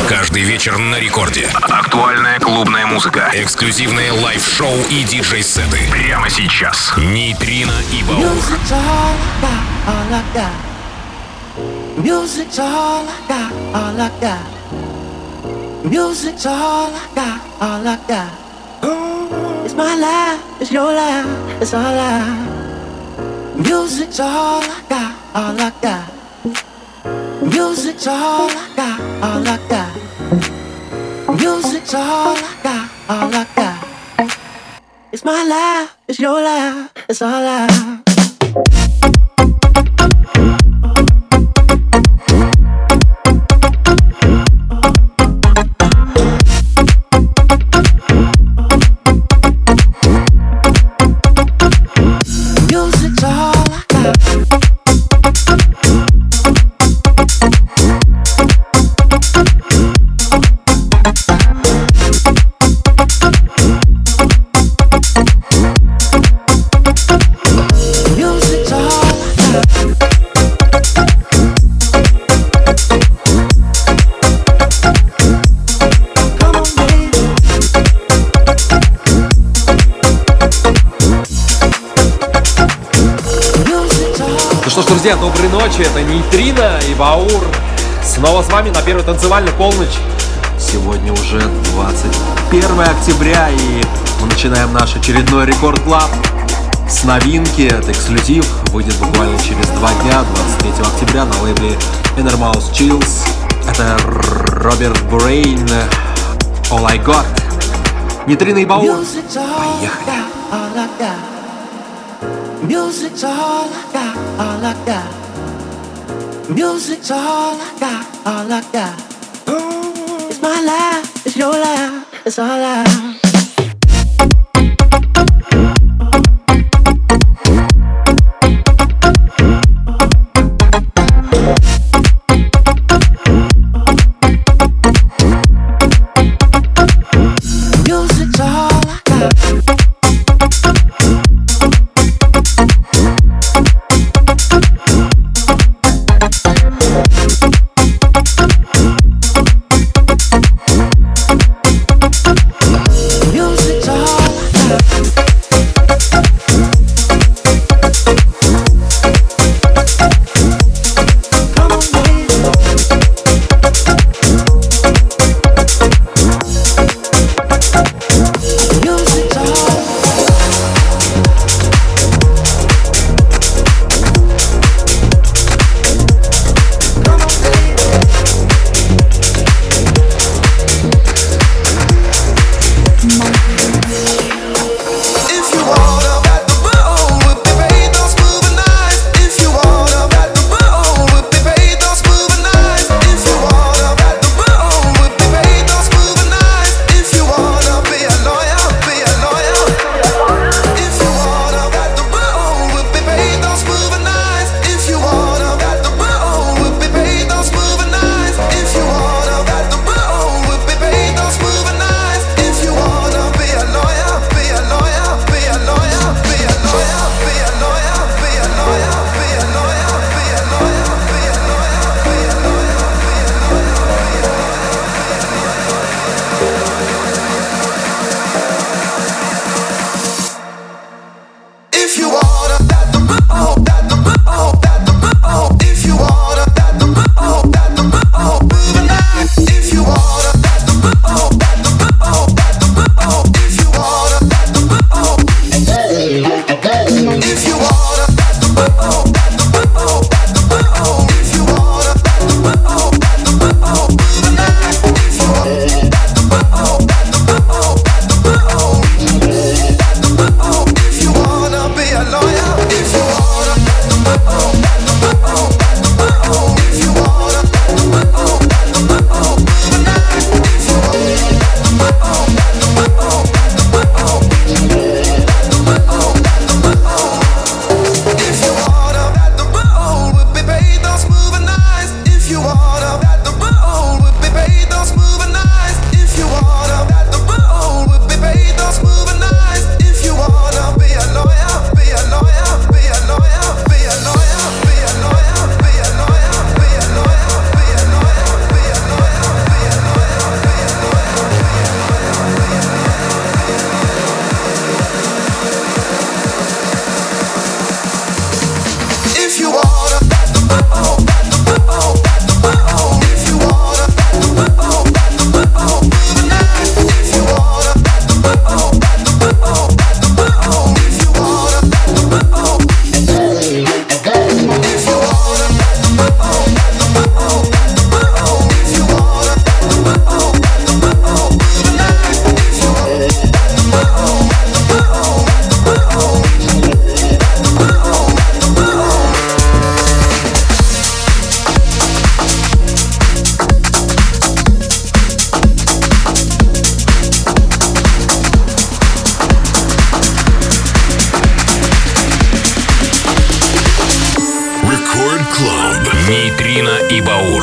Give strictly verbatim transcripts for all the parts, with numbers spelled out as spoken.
Каждый вечер на рекорде. Актуальная клубная музыка, эксклюзивные лайв-шоу и диджей-сеты. Прямо сейчас. Нейтрино и Баур. Music's all I got, all I got. Music's all I got, all I got. Mm, it's my life, it's your life, it's our life. Music's all I got, all I got. Music's all I got, all I got. Music's all I got, all I got. It's my life, it's your life, it's our life. Друзья, доброй ночи, это Нейтрино и Баур. Снова с вами на первой танцевальной полночь. Сегодня уже двадцать первое октября, и мы начинаем наш очередной Рекорд Клаб с новинки. Это эксклюзив, выйдет буквально через два дня, двадцать третьего октября, на лейбле Inner Mouse Chills. Это Роберт Брейн, All I Got. Нейтрино и Баур. Поехали. Music's all I got, all I got. Music's all I got, all I got. Mm, it's my life, it's your life, it's our life.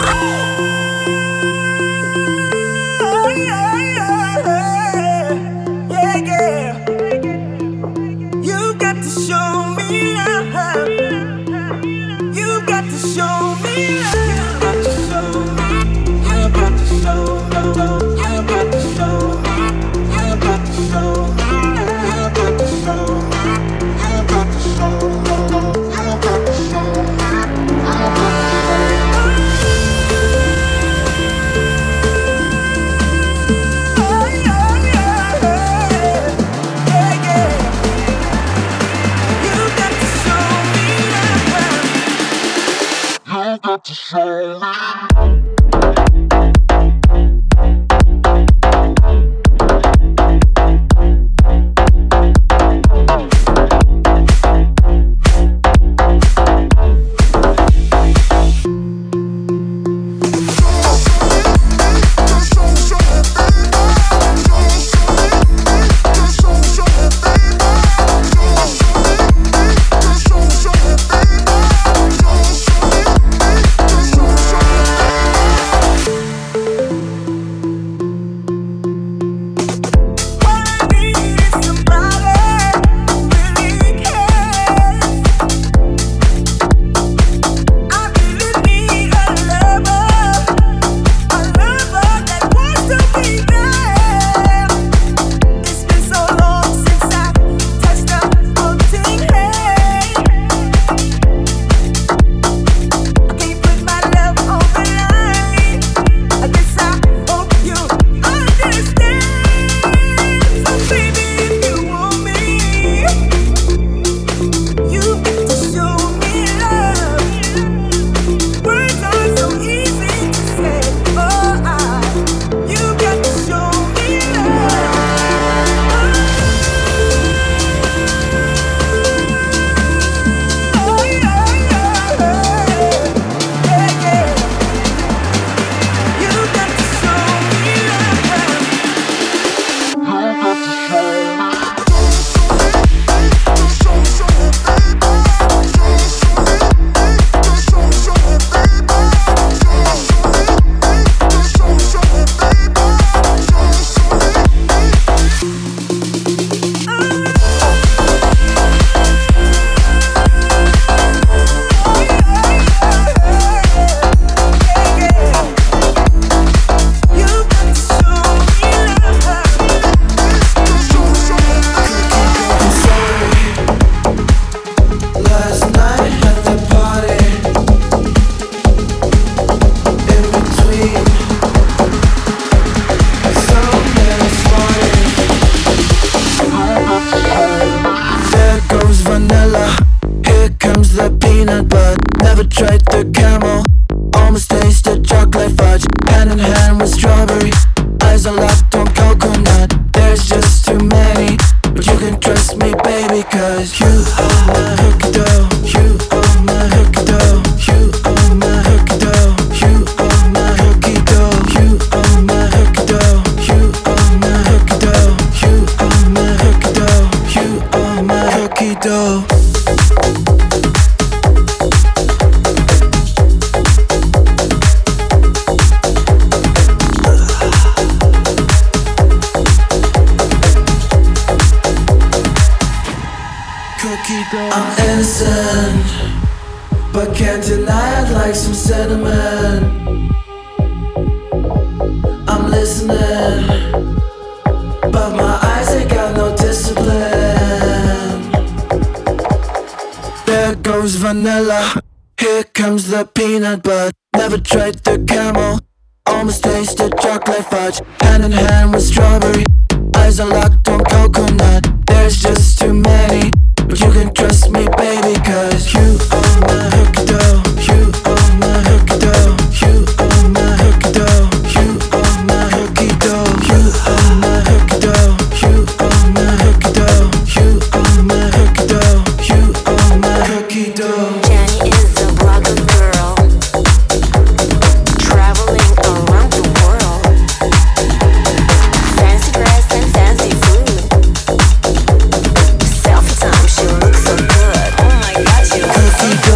Cookie dough.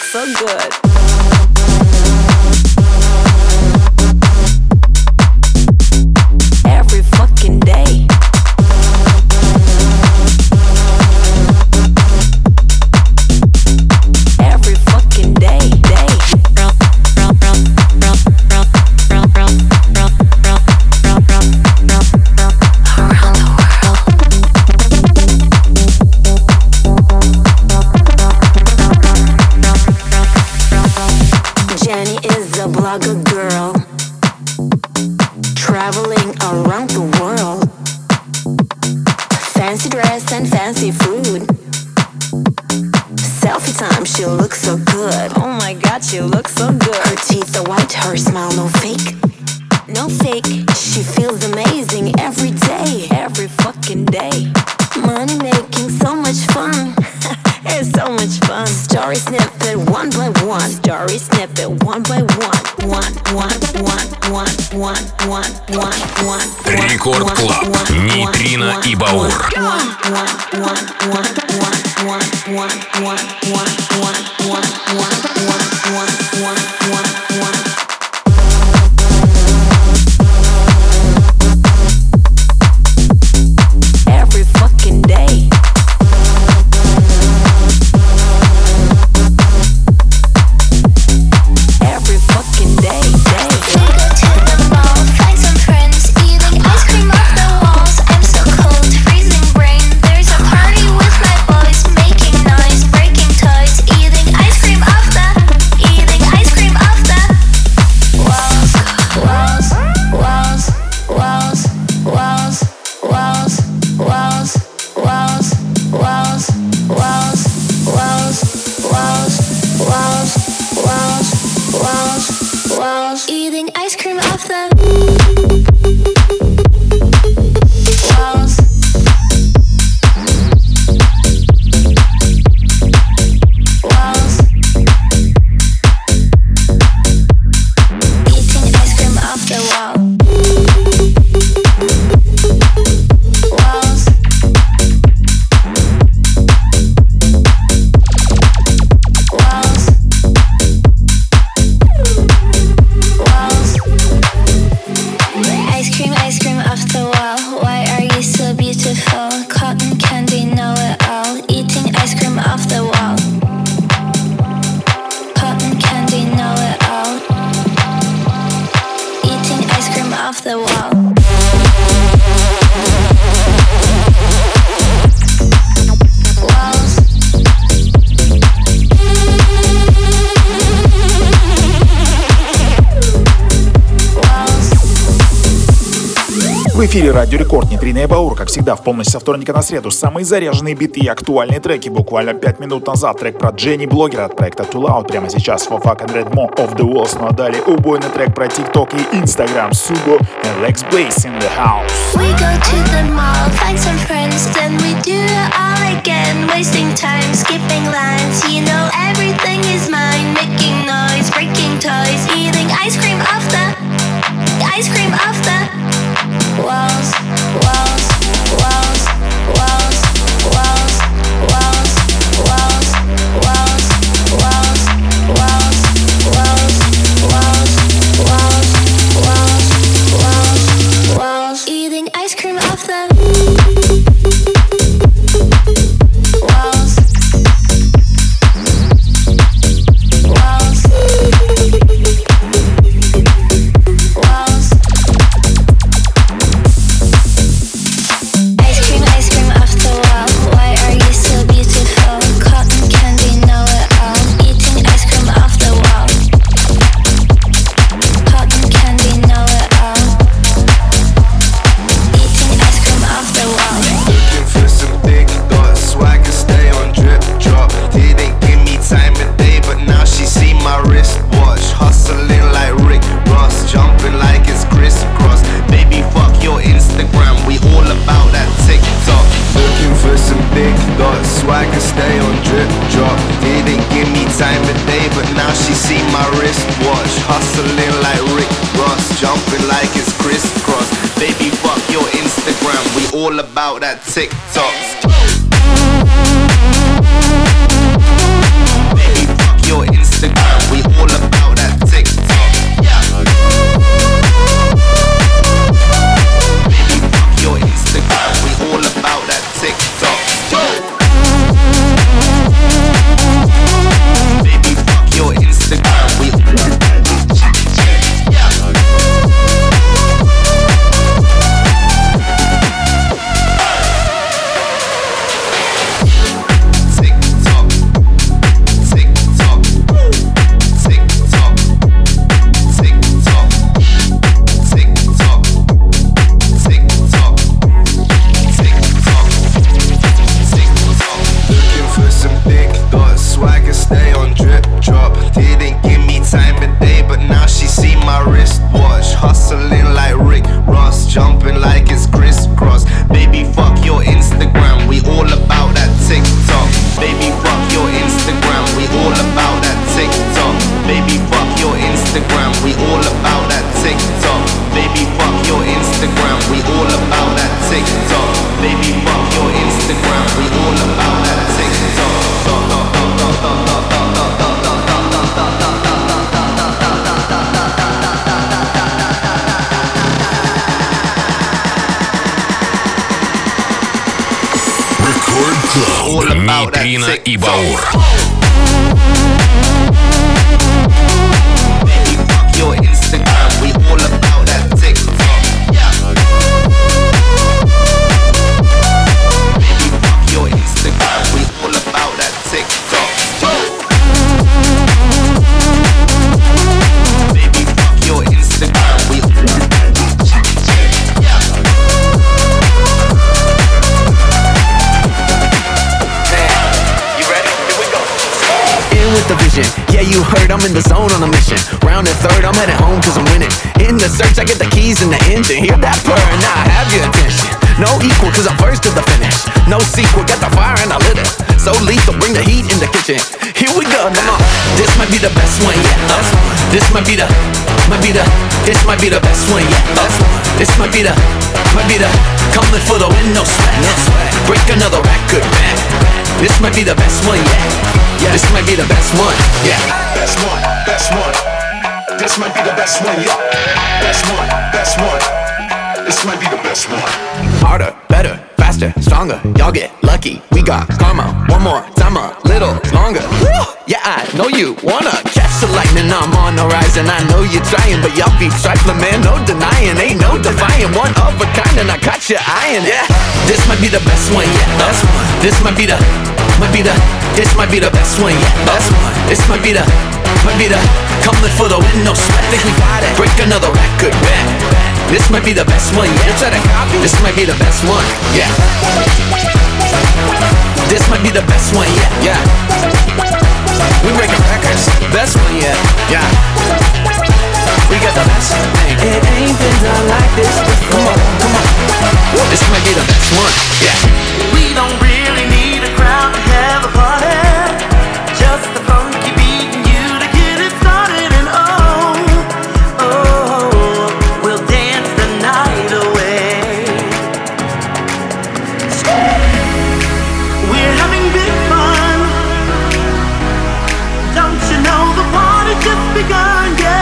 look so good. Every fucking day. Every fucking day, day. Around the world. Jenny is a blogger girl, traveling around the world. Fancy dress and fancy food. Selfie time, she looks so good. Oh my god, she looks so good. Her teeth are white, her smile no fake. No fake. She feels amazing every day, every fucking day. Money making so much fun. It's so much fun. Story snippet one by one. Story snippet one by one. One, one, one, one, one, one, one, one. Рекорд Клаб. Нейтрино и Баур. Every fucking day. Every fucking day, day. We go to the mall, find some friends, eating ice cream off the walls. I'm so cold, freezing brain. There's a party with my boys, making noise, breaking toys, eating ice cream off the, eating ice cream off the walls, walls, walls, walls, walls, walls, walls, walls, walls, walls, walls, walls, walls, walls, walls, walls, eating ice cream off the walls. Walls. Eating ice cream off the wall. Walls. Walls. Walls. Ice cream, ice cream off the wall. Why are you so beautiful? Cotton candy, know it all. Eating ice cream off the wall. Cotton candy, know it all. Eating ice cream off the wall. Walls. Walls. В эфире Радио Рекорд, Нейтрино и Баур, как всегда, в полночь со вторника на среду. Самые заряженные биты и актуальные треки. Буквально пять минут назад трек про Дженни Блогера от проекта Too Loud. Прямо сейчас For Fuck and Red More of the Walls. Ну а далее убойный трек про TikTok и Instagram. Subo and Lex Blaze in the house. We go to the mall, find some friends, then we do it all again. Wasting time, skipping lines, you know everything is mine. Making noise, breaking toys, eating ice cream off the, ice cream off the walls, walls, walls, walls, walls, walls, walls, walls, walls, walls, walls, walls, walls, walls, walls, walls, eating ice cream off the walls, walls, walls. Ice cream, ice cream off the wall. Why are you so beautiful? Cotton candy, know it all. Eating ice cream off the wall. Cotton candy, know it all. Eating ice cream off the wall. Looking for some big thoughts so I can stay on drip drop. Didn't give me time of day, but now she see my wristwatch. Hustling like Rick Ross, jumping like it's crisscross. Baby, fuck your Instagram, we all about that TikTok. Looking for some big thoughts so I can stay on drip drop. Didn't give me time of day, but now she see my wristwatch. Hustling like Rick Ross, jumping like it's crisscross. Baby, fuck your Instagram, we all about that TikTok. Baby, fuck your Instagram. see my wristwatch. Hustling like Rick Ross, jumping like it's crisscross. Baby, fuck your Instagram, we all about that TikTok. Baby, fuck your Instagram, we all about that TikTok. Baby, fuck your Instagram, we all about that TikTok. Baby, fuck your Instagram, we all about that TikTok. Baby, fuck your Instagram, we all about that TikTok. Record Club. Нейтрино и Баур. Baby, fuck your Instagram, we all about that TikTok. Yeah. Baby, fuck your Instagram, we all about that TikTok. Baby, fuck your Instagram, we all about that TikTok. Yeah. You ready? Here we go. In with the vision, yeah, you heard I'm in the zone on a mission. Round and third, I'm headed home cause I'm winning. In the search, I get the keys and the engine. Hear that purr, now I have your attention. No equal cause I'm first to the finish. No sequel, got the fire and I lit it. So lethal, bring the heat in the kitchen. Here we go, come on. This might be the best one yet. Uh, this might be the, might be the, this might be the best one yet. Uh, this might be the, might be the, coming for the win, no sweat. No sweat. Break another record, man. This might be the best one yet. Yeah, this might be the best one. Yeah, best one, best one. This might be the best one yet. Best one, best one. This might be the best one. Harder, better, faster, stronger. Y'all get lucky. We got karma. One more time, a little longer. Woo! Yeah, I know you wanna catch the lightning. I'm on the rise and I know you're trying, but y'all be trifling, man. No denying, ain't no defying. One of a kind and I caught you eyeing. Yeah, this might be the best one yet. Best one. This might be the, might be the, this might be the best one yet. Best one. This might be the, might be the, coming for the win, no sweat. Think we got it. Break another record, man. This might be the best one, yeah. Try to copy. This might be the best one, yeah. This might be the best one, yeah, yeah. We breaking records, best one, yeah, yeah. We got the best thing. It ain't been done like this before. Come on, come on. This might be the best one, yeah. We don't really need a crowd to have a party. Just the funky beat and you to get it started. And oh, oh, we'll dance the night away. We're having big fun. Don't you know the party just begun? Yeah.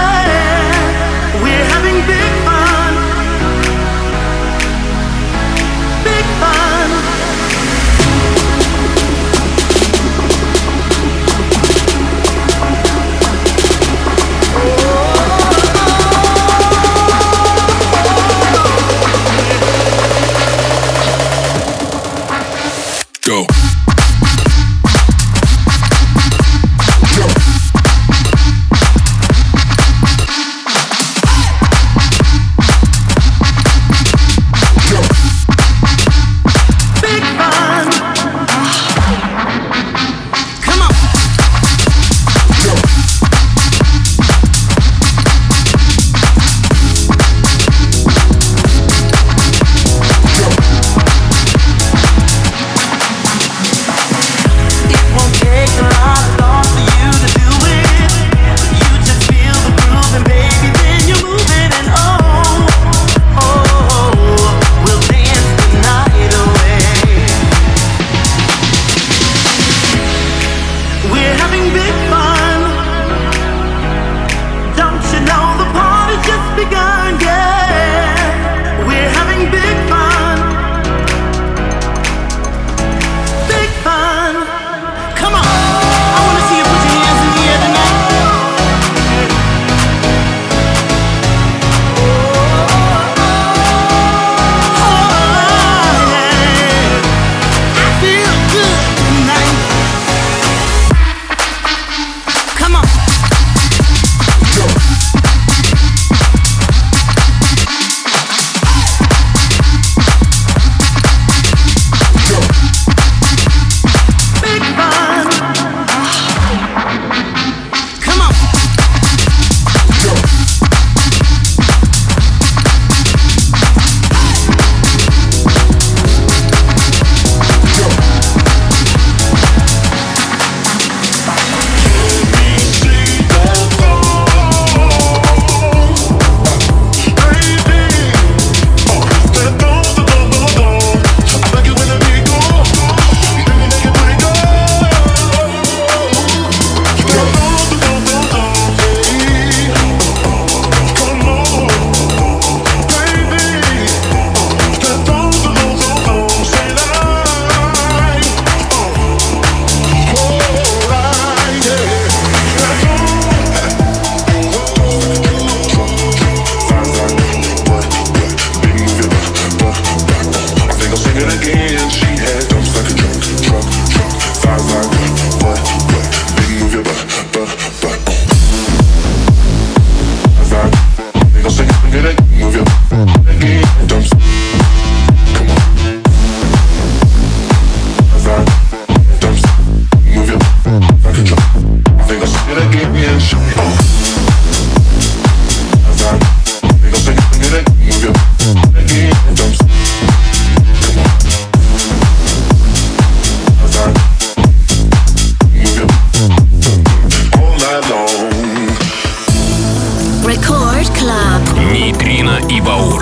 Record Club. Нейтрино и Баур.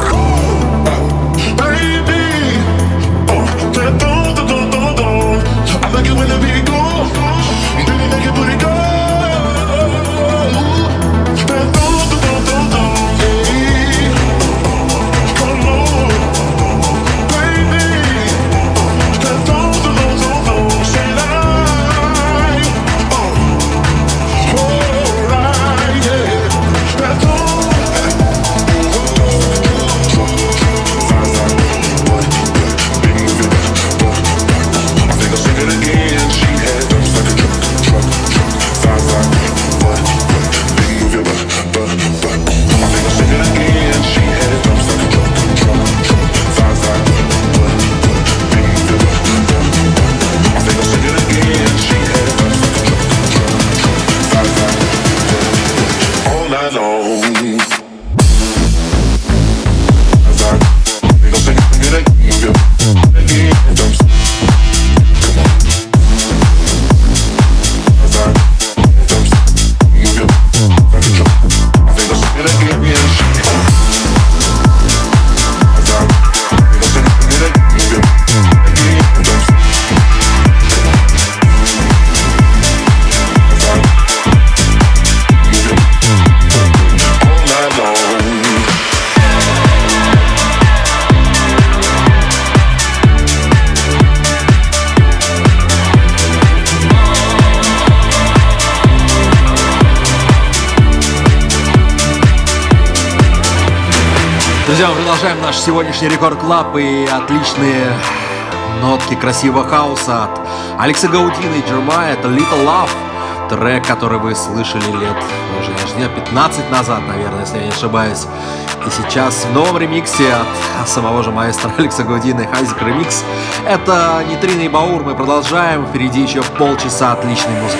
Друзья, мы продолжаем наш сегодняшний Рекорд Клаб и отличные нотки красивого хаоса от Алекса Гаудина и Джермая. Это Little Love, трек, который вы слышали лет, уже даже не пятнадцать назад, наверное, если я не ошибаюсь. И сейчас в новом ремиксе от самого же маэстро Алекса Гаудина и Хайзек ремикс. Это Нейтрино и Баур. Мы продолжаем. Впереди еще полчаса отличной музыки.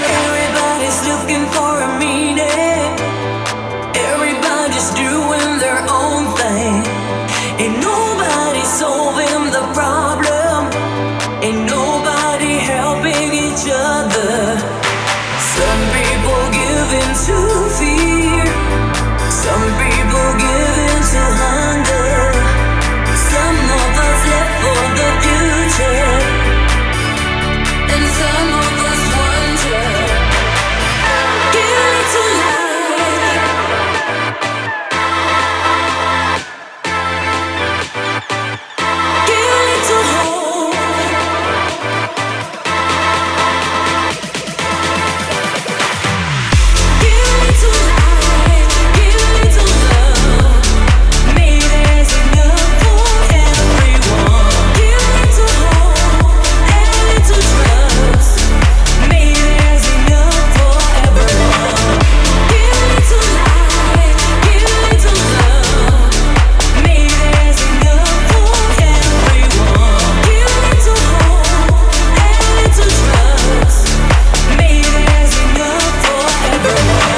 Ain't nobody solving the problem. Ain't nobody helping each other. Some people give in to fear. Some people give in to hunger. Some of us live for the future, and some of us wonder. Give it to life. Give it to hope. Give it to life. Give it to love. Maybe there's enough for everyone. Give it to hope and to trust. Maybe there's enough for everyone. Give it to life. Give it to love. Maybe there's enough for everyone. Give it to hope and to trust. Maybe there's enough for everyone.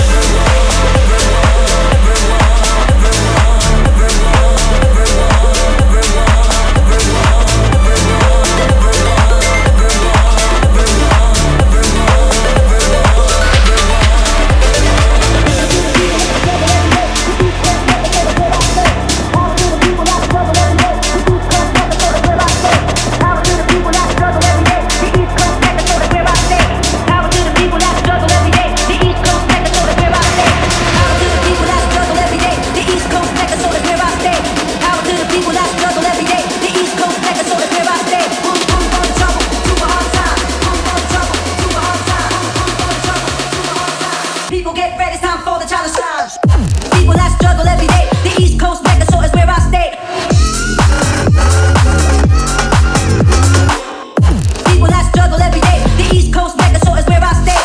People get ready, it's time for the challenge lounge. People that struggle every day, the East Coast Mecca, so it's where I stay. People that struggle every day, the East Coast Mecca, so it's where I stay.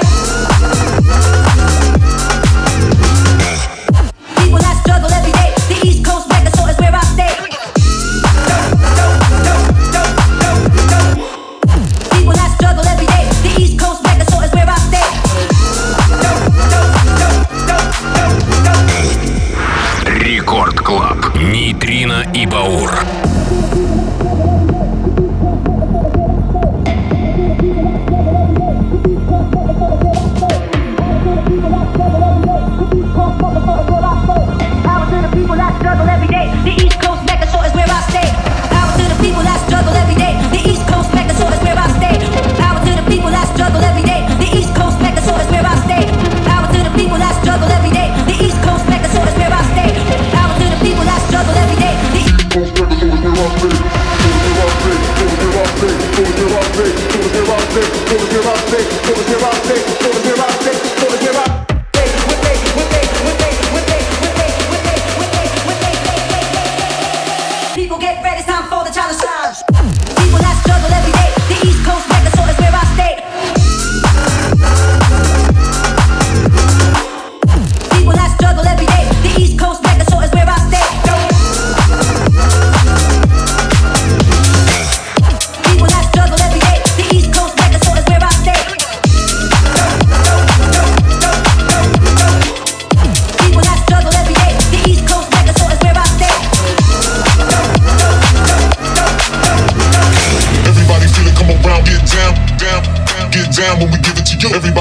People that struggle every day, the East Coast Mecca, so it's where I stay. People that struggle every day, the East Coast Mecca, so it's where I stay. Рекорд Клаб. Нейтрино и Баур. People that struggle every day, the East Coast Mecca, so it's where I stay.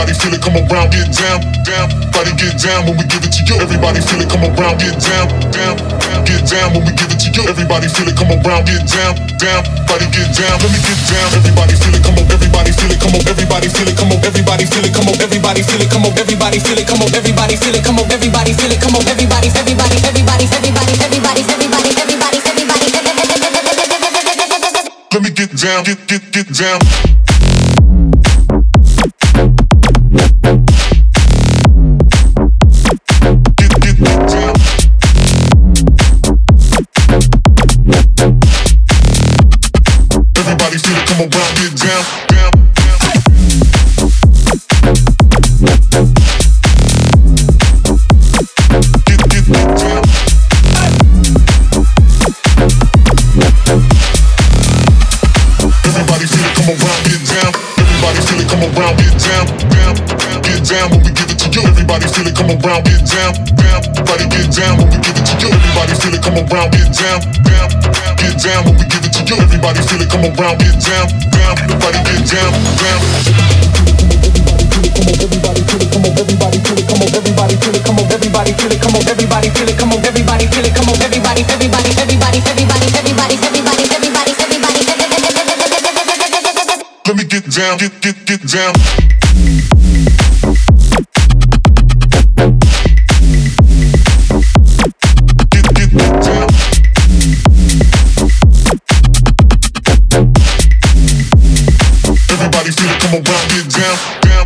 Everybody feel it, come around, get down, down. Body get down when we give it to you. Everybody feel it, come around, get down, down. Get down when we give it to you. Everybody feel it, come around, get down, down. Body get down, let me get down. Everybody feel it, come on. Everybody feel it, come on. Everybody feel it, come on. Everybody feel it, come on. Everybody feel it, come on. Everybody feel it, come on. Everybody feel it, come on. Everybody feel it, come on. Everybody, everybody, everybody, everybody, everybody, everybody, everybody, everybody. Let me get down, get get get down. Everybody feel it, come on, round, get down, down, get, get, get down. Everybody feel it, come on, round, get down. Everybody feel it, come on, round, get down, down, get down when we give it to you. Everybody feel it, come on, round, get down, down. Everybody get down when we give it to you. Everybody feel it, come on, round, get down, down. Get down when we give it to you. Everybody feel it, come around, get down, down. Everybody get down, down. Everybody feel it, come on. Everybody feel it, come on. Everybody feel it, come on. Everybody feel it, come on. Everybody feel it, come on. Everybody feel it, come on. Everybody, everybody, everybody, everybody, everybody, everybody, everybody, everybody. Let me get down, get get get down. Everybody feel it, come around, get down, down.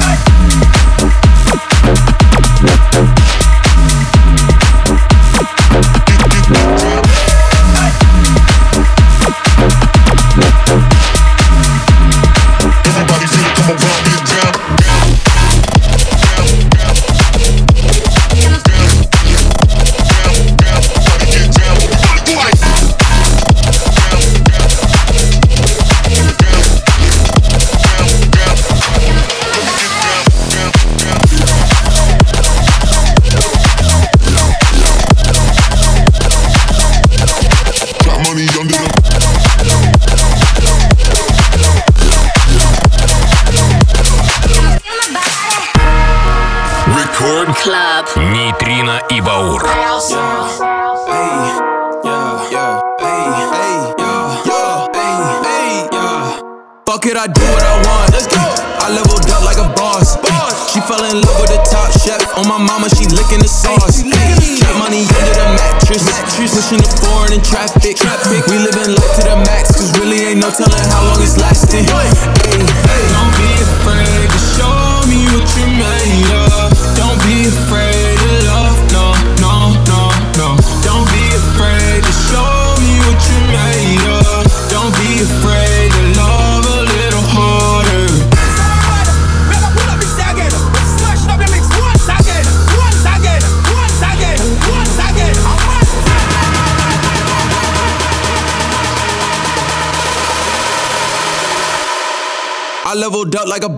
Get, get, get down. Everybody feel it, come around, get down, down, down, down, down, down, down. Everybody get down, everybody do it. Club. Нейтрино и Баур. Fuck it, I do what I want. Let's go. I leveled up like a boss. boss. She fell in love with the top chef. On my mama, she licking the sauce. Keep money under the mattress. mattress. Pushing the foreign in traffic. traffic. We living life to the max, cause really ain't no telling how long it's lasting. Hey, hey. Don't be afraid to show me what you made of. Don't be afraid to love. No, no, no, no. Don't be afraid to show me what you made of. Don't be afraid to love a little harder. I leveled up like a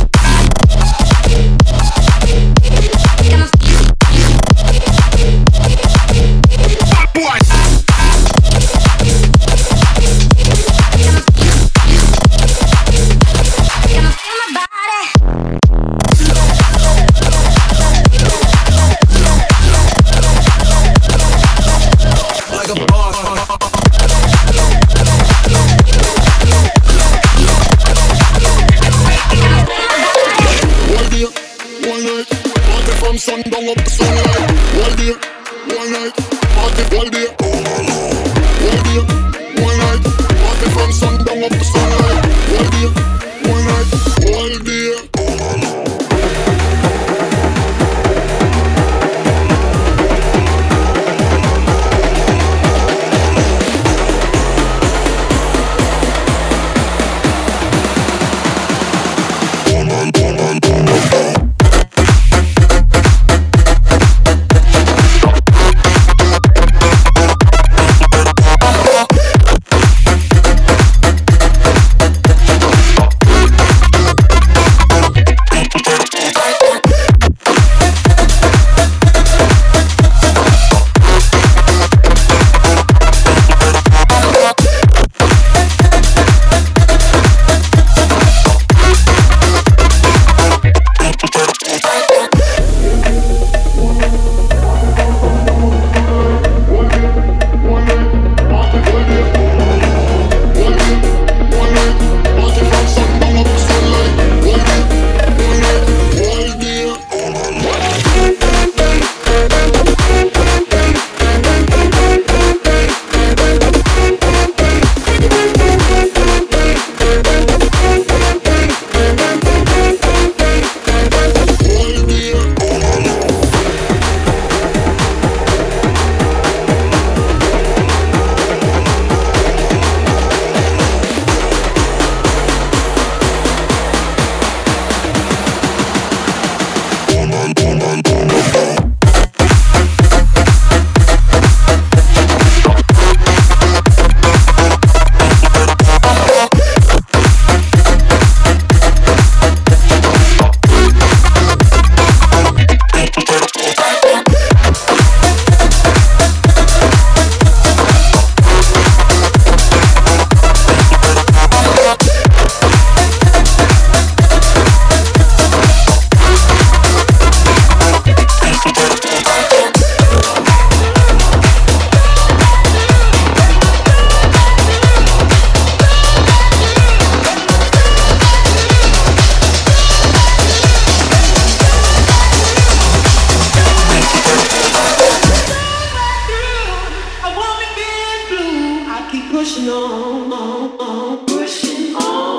sundown up to sunlight. One day, one night, party all day. One day, one night, party from sundown up to sunlight. One day, one night, all day. pushing on, on, on, pushing on.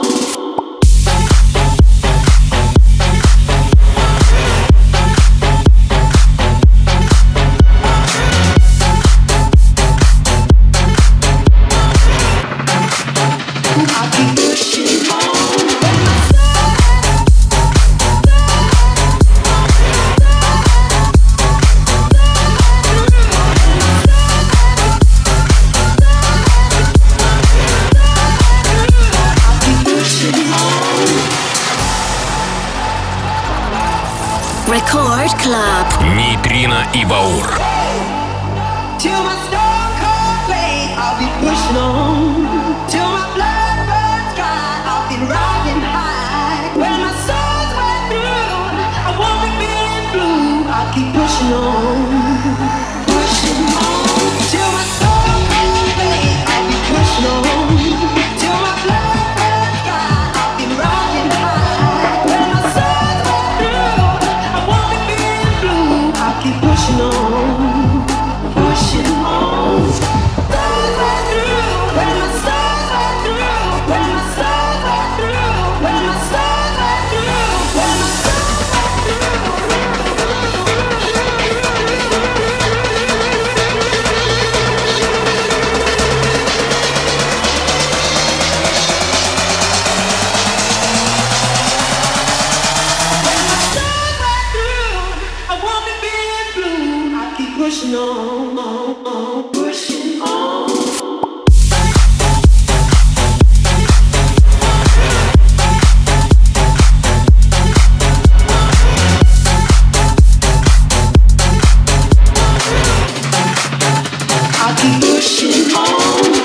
Record Club. Нейтрино и Баур. Till my stone cold blade, I'll be pushing on. Till my blood runs dry, I'll be riding high. When my soul's wet through, I won't be feeling blue. I'll keep pushing on, pushing on. Till my stone cold blade, I'll be pushing on. Till my blood runs dry, I'll be riding high. When my soul's wet through, I won't be feeling blue. I'll keep pushing on, pushing on. Stars right through, when my stars right through, when my stars right through, when my stars right through, when my stars right through. When my stars right through, I won't be feeling blue. I keep pushing on, on, on, pushing on. I keep pushing on.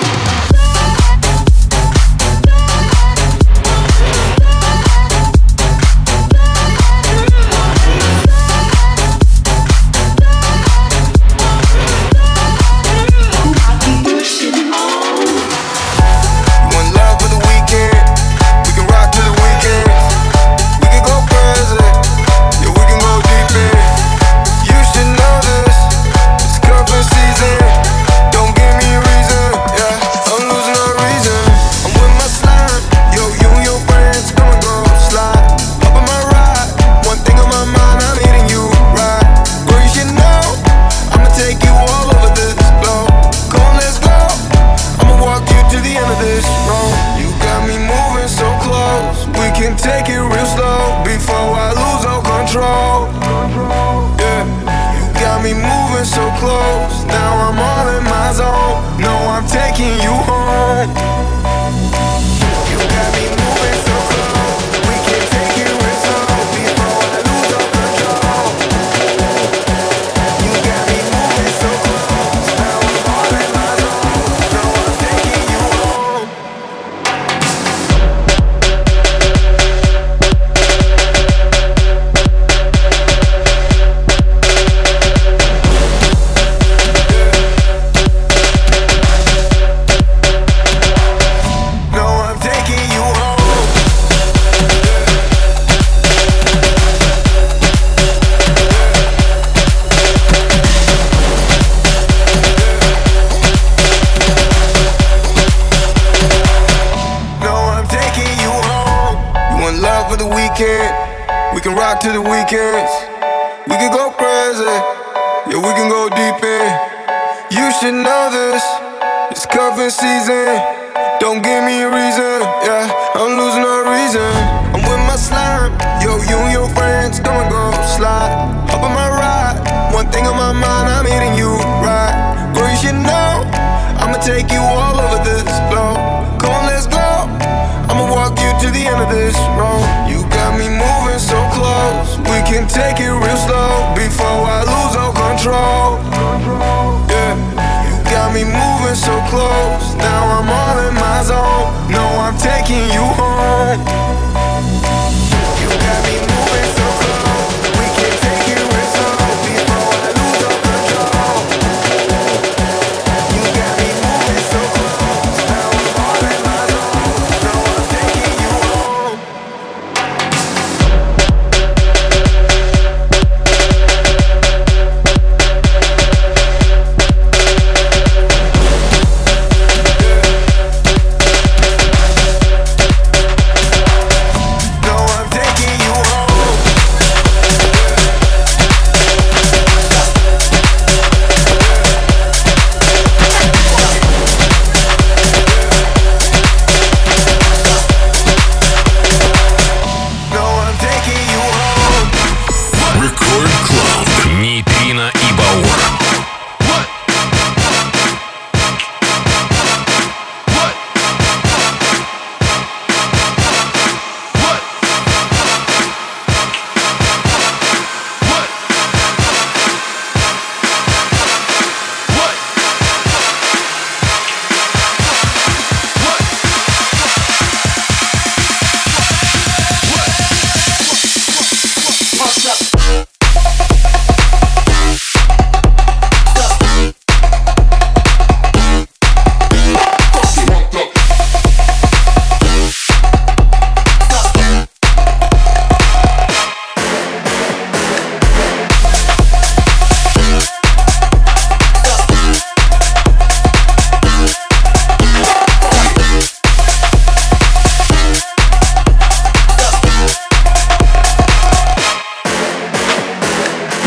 I keep pushing on. One love for the weekend. We can rock to the weekend. We can go crazy. Yeah, we can go deep in. You should know this. It's cuffing season. Don't give me a reason. Yeah, I'm losing all reason. I'm with my slime. Yo, you and your friends come and go slide. Up on my ride. One thing on my mind, I'm hitting you right. Girl, you should know. I'ma take you all over this globe. Come on, let's go. I'ma walk you to the end of this road. You got me moving so close. We can take it real slow before I lose all control. Yeah, you got me moving so close. Now I'm all in my zone. No, I'm taking you home. You got me moving so close. We can take it real slow before I lose all control. You got me moving so close. Now I'm all in my zone. No, I'm taking you home. No, I'm taking you home. No, I'm taking you home. You want love for the weekend? We can rock to the weekends. We can go crazy. Yeah, we can go deep in. You should know this. It's cuffing season. Don't give me a reason. Yeah, I'm losing all reason. I'm with my slime. Yo, you and your friends come and go slide. Up on my ride. One thing on my mind, I'm hitting you right. Girl, you should know. I'ma take you all over this globe. Come on, let's go. I'ma walk you to the end of this road. You got me moving so close. We can take it real slow before I lose all control. Yeah, you got me moving so close. Now I'm all in my zone. No, I'm taking you home. You got me moving so close. We can take it real slow before I lose all control. You got me moving so close. Now I'm all in my zone. No, I'm taking you home.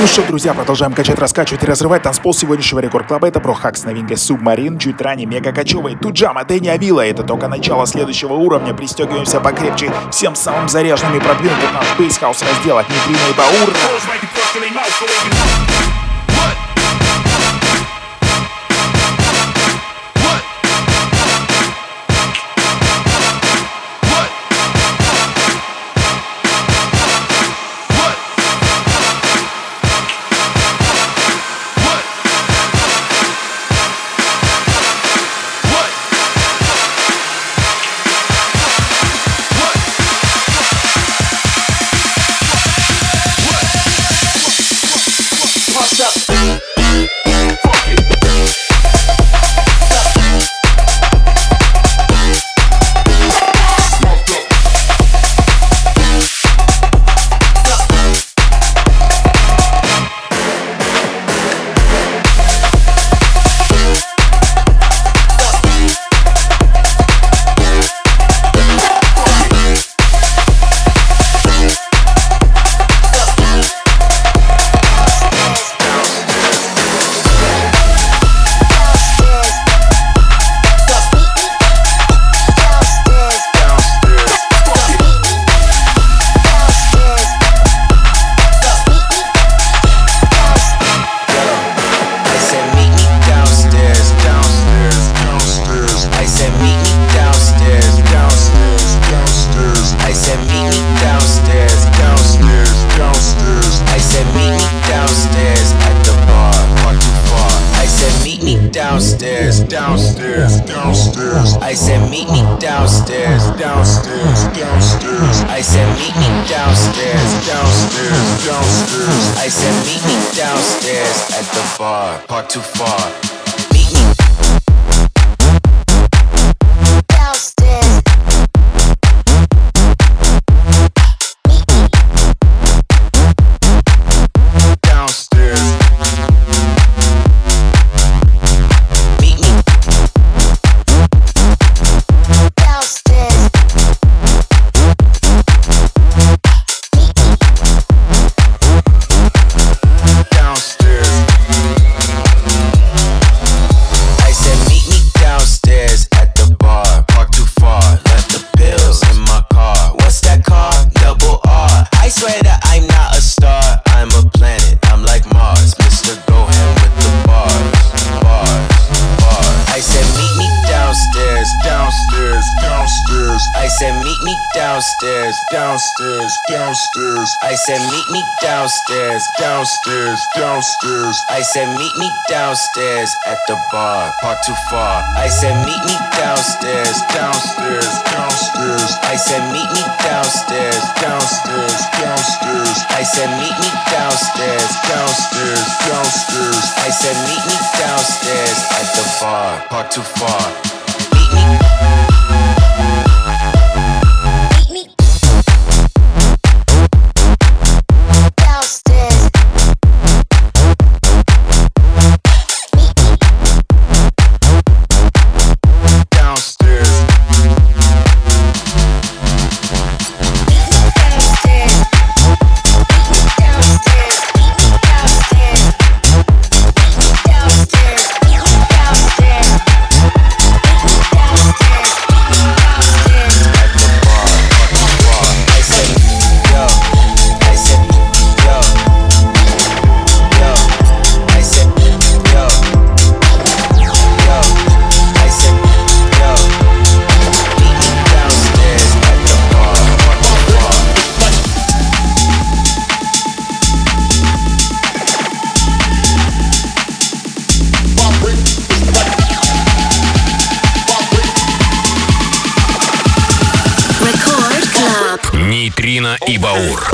Ну что, друзья, продолжаем качать, раскачивать и разрывать танцпол сегодняшнего Рекорд Клаба. Это Брохак с новинкой Submarine, чуть ранее мега кочевый Туджама, Дэнни Авила. Это только начало следующего уровня. Пристегиваемся покрепче. Всем самым заряженным и продвинутым наш бейсхаус раздел от Нейтрина и Баура. I said meet me downstairs at the bar, park too far. I said meet me downstairs, downstairs, downstairs. I said meet me downstairs, downstairs, downstairs. I said meet me downstairs, downstairs, downstairs. I said meet me downstairs at the bar, park too far. Meet me. Нейтрина и Баур.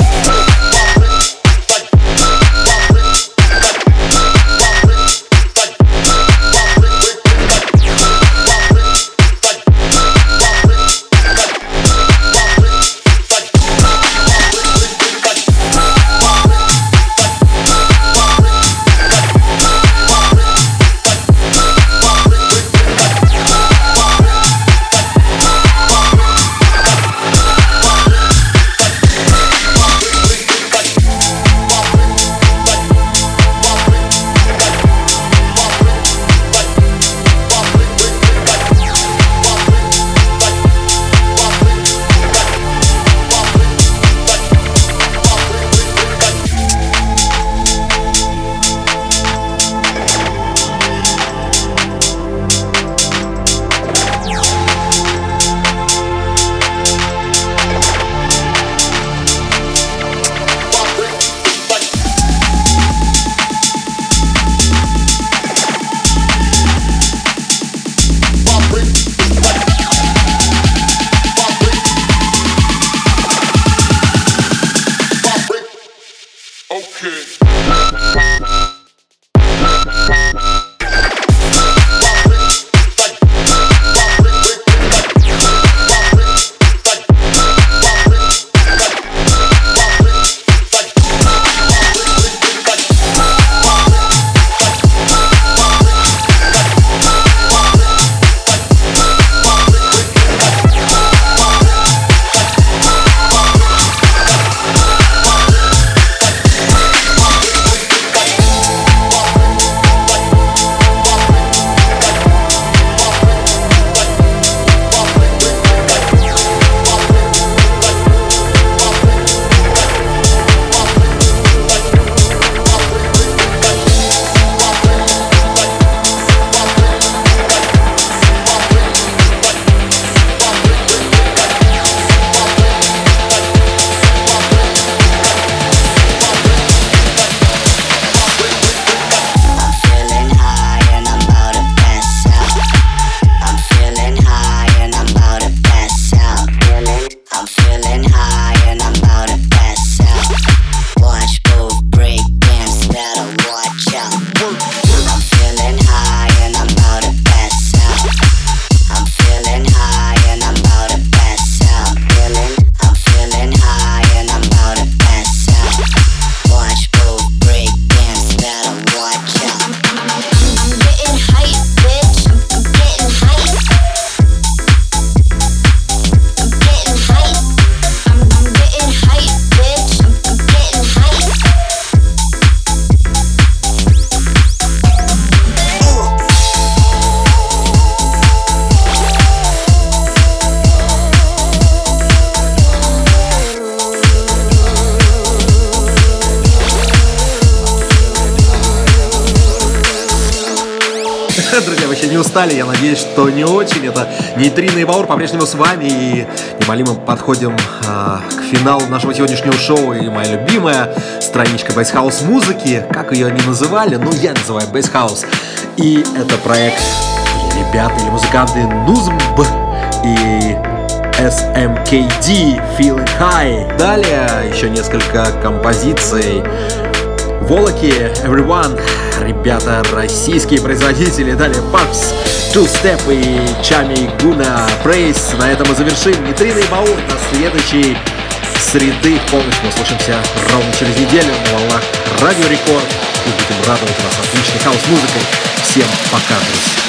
Друзья, вы еще не устали? Я надеюсь, что не очень. Это Нейтрино и Баур по-прежнему с вами. И немалимо подходим а, к финалу нашего сегодняшнего шоу. И моя любимая страничка бейсхаус музыки. Как ее они называли? Ну, я называю бейсхаус. И это проект или ребята, или музыканты Нузмб и эс эм кей ди Feeling High. Далее еще несколько композиций. Волоки, Everyone, ребята, российские производители. Далее Пакс, Two Step и Чами Гуна, Praise. На этом мы завершим Нейтрино и Баур. До следующей среды в полночь мы услышимся ровно через неделю на волнах Радио Рекорд. И будем радовать вас отличной хаус-музыкой. Всем пока, друзья.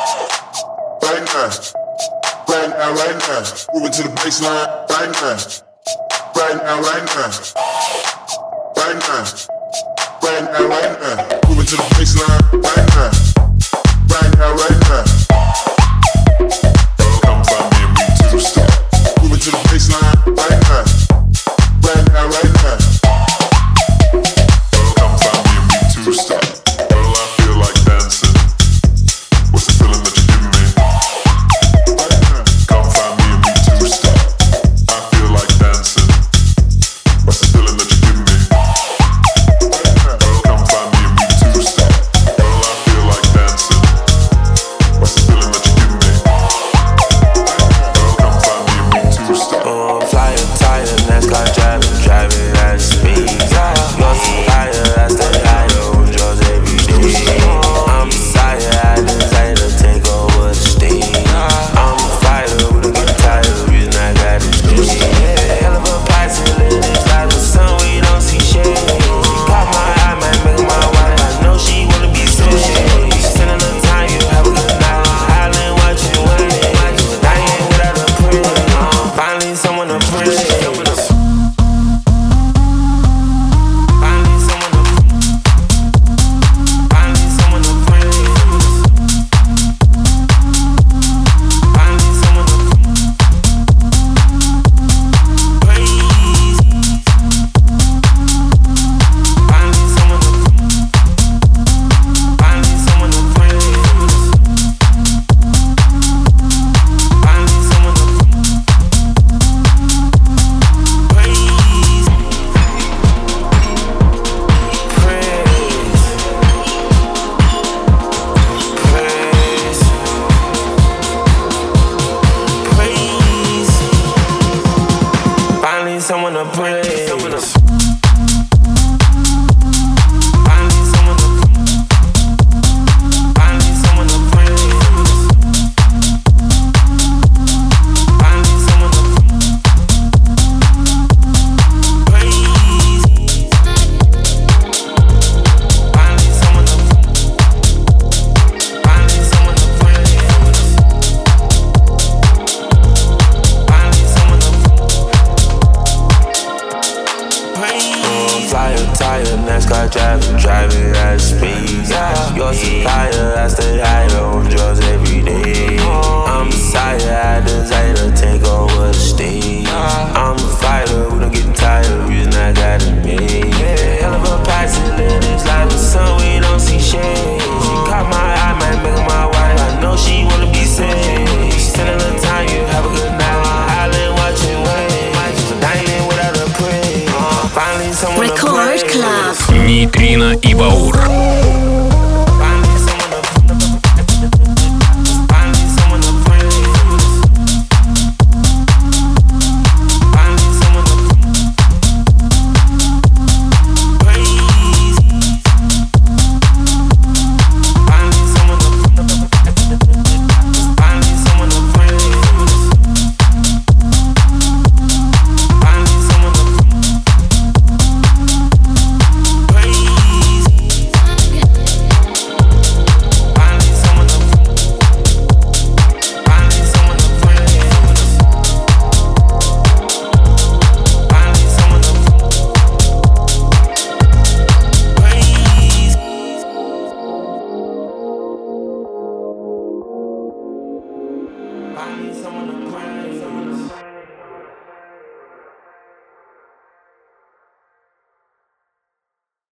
right now, right now, right now. Moving to the baseline, right now, right now, right now, right now, right now, right now. Moving to the baseline, right now, right now, right now. Come find me and we two-step. Moving to the baseline, right now, right now, right now. Come find me and we two-step. Girl, I feel like dancing. What's the feeling that you give me? Come find me and we two-step. I feel like dancing. What's the feeling that you give me? Girl, come find me and we two-step. Girl, I feel like dancing. What's the feeling that you give me? Girl, come find me and we two-step. Oh, flyer, tire, NASCAR driving, driving at speed. You're supplier, that's the higher on drugs every day. I'm Messiah, I desire to take over the stage. I'm a fighter, we don't get tired of the reason I got this day. Hell of a posse, lit this life, the sun, we don't see shade. She caught my eye, might make my wife, I know she wanna be saved. Spending the time, you have a good night. Island, what you waiting? Dying without a prayer. Finally, someone to praise. Someone to praise. Someone to Finally someone to Finally someone to praise. Finally someone to praise. Finally someone to Finally someone to praise. Finally someone to flyer, tire, NASCAR driving, driving at speed. Your supplier, I stay higher on drugs every day. I'm Messiah, I desire to take over the stage. I'm a fighter, we don't get tired of the reason I got it made. Hell of a posse, lit this life, the sun, we don't see shade. She caught my eye, might make my wife, I know she wanna be saved. Spending the time, you have a good night. Island, watching waves, dining without a praise. Record Club. Нейтрино и Баур.